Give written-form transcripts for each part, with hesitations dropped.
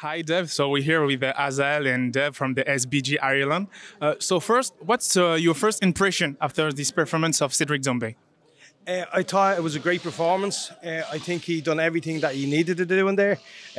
Hi, Dev. So we're here with Azal and Dev from the SBG Ireland. So first, what's your first impression after this performance of Cedric Doumbé? I thought it was a great performance. I think he done everything that he needed to do in there.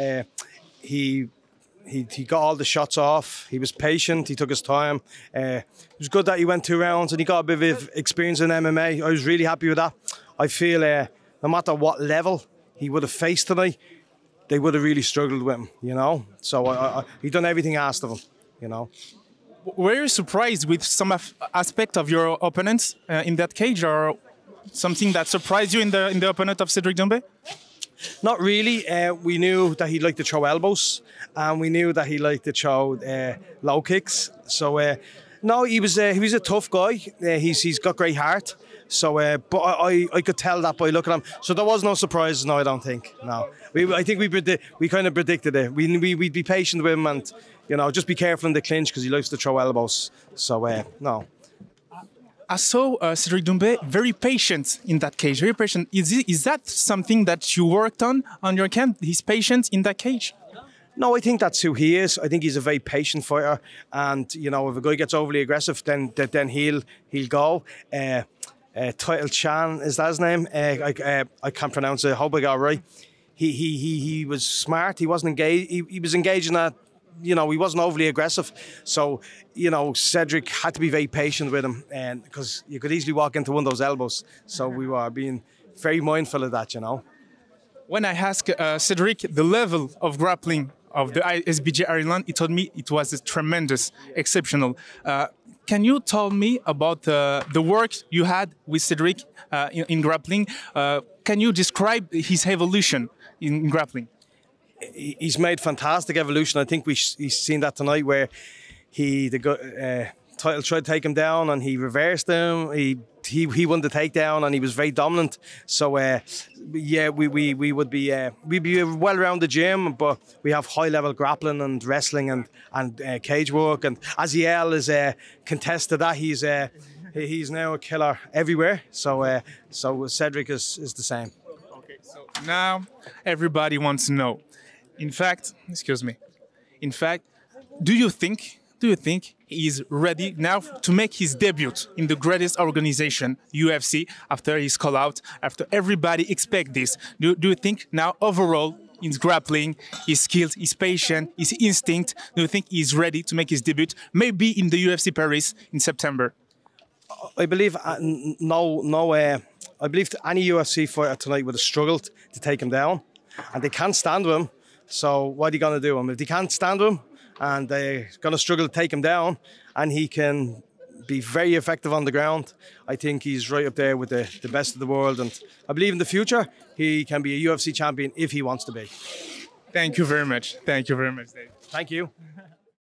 He he got all the shots off. He was patient. He took his time. It was good that he went 2 rounds and he got a bit of experience in MMA. I was really happy with that. I feel no matter what level he would have faced tonight, they would have really struggled with him, you know. So he done everything asked of him, you know. Were you surprised with some aspect of your opponents in that cage, or something that surprised you in the opponent of Cedric Doumbé? Not really. We knew that he liked to throw elbows, and we knew that he liked to throw low kicks. So no, he was a tough guy. He's got great heart. So, but I could tell that by looking at him. So there was no surprises. No, I don't think. No, I think we kind of predicted it. We'd be patient with him, and you know, just be careful in the clinch because he likes to throw elbows. So no. I saw Cedric Doumbé very patient in that cage. Very patient. Is that something that you worked on your camp? His patience in that cage? No, I think that's who he is. I think he's a very patient fighter, and you know, if a guy gets overly aggressive, then he'll go. Title Chan, is that his name? I can't pronounce it. I hope I got it right. He was smart. He wasn't engaged. He was engaged in that. You know, he wasn't overly aggressive. So, you know, Cedric had to be very patient with him, and because you could easily walk into one of those elbows. So we were being very mindful of that, you know. When I asked Cedric the level of grappling of the SBG Ireland, he told me it was tremendous, exceptional. Can you tell me about the work you had with Cedric in grappling? Can you describe his evolution in grappling? He's made fantastic evolution. I think he's seen that tonight where Title tried to take him down and he reversed him. He won the takedown and he was very dominant. So yeah, we'd be well around the gym, but we have high level grappling and wrestling and cage work. And Aziel is contested that. He's now a killer everywhere. So Cedric is the same. Okay, so now everybody wants to know. In fact, do you think he's ready now to make his debut in the greatest organization, UFC, after his call out, after everybody expect this? Do you think now overall his grappling, his skills, his patience, his instinct, do you think he's ready to make his debut, maybe in the UFC Paris in September? I believe I believe any UFC fighter tonight would have struggled to take him down, and they can't stand with him. So what are you going to do? If they can't stand him and they're going to struggle to take him down, and he can be very effective on the ground, I think he's right up there with the best of the world. And I believe in the future, he can be a UFC champion if he wants to be. Thank you very much. Thank you very much, Dave. Thank you.